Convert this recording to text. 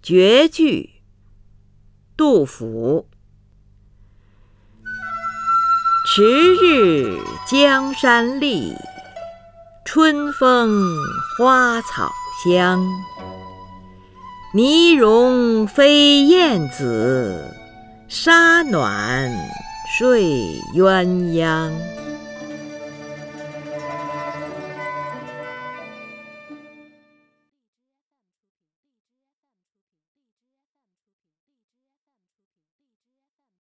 绝句，杜甫。迟日江山丽，春风花草香。泥融飞燕子，沙暖睡鸳鸯。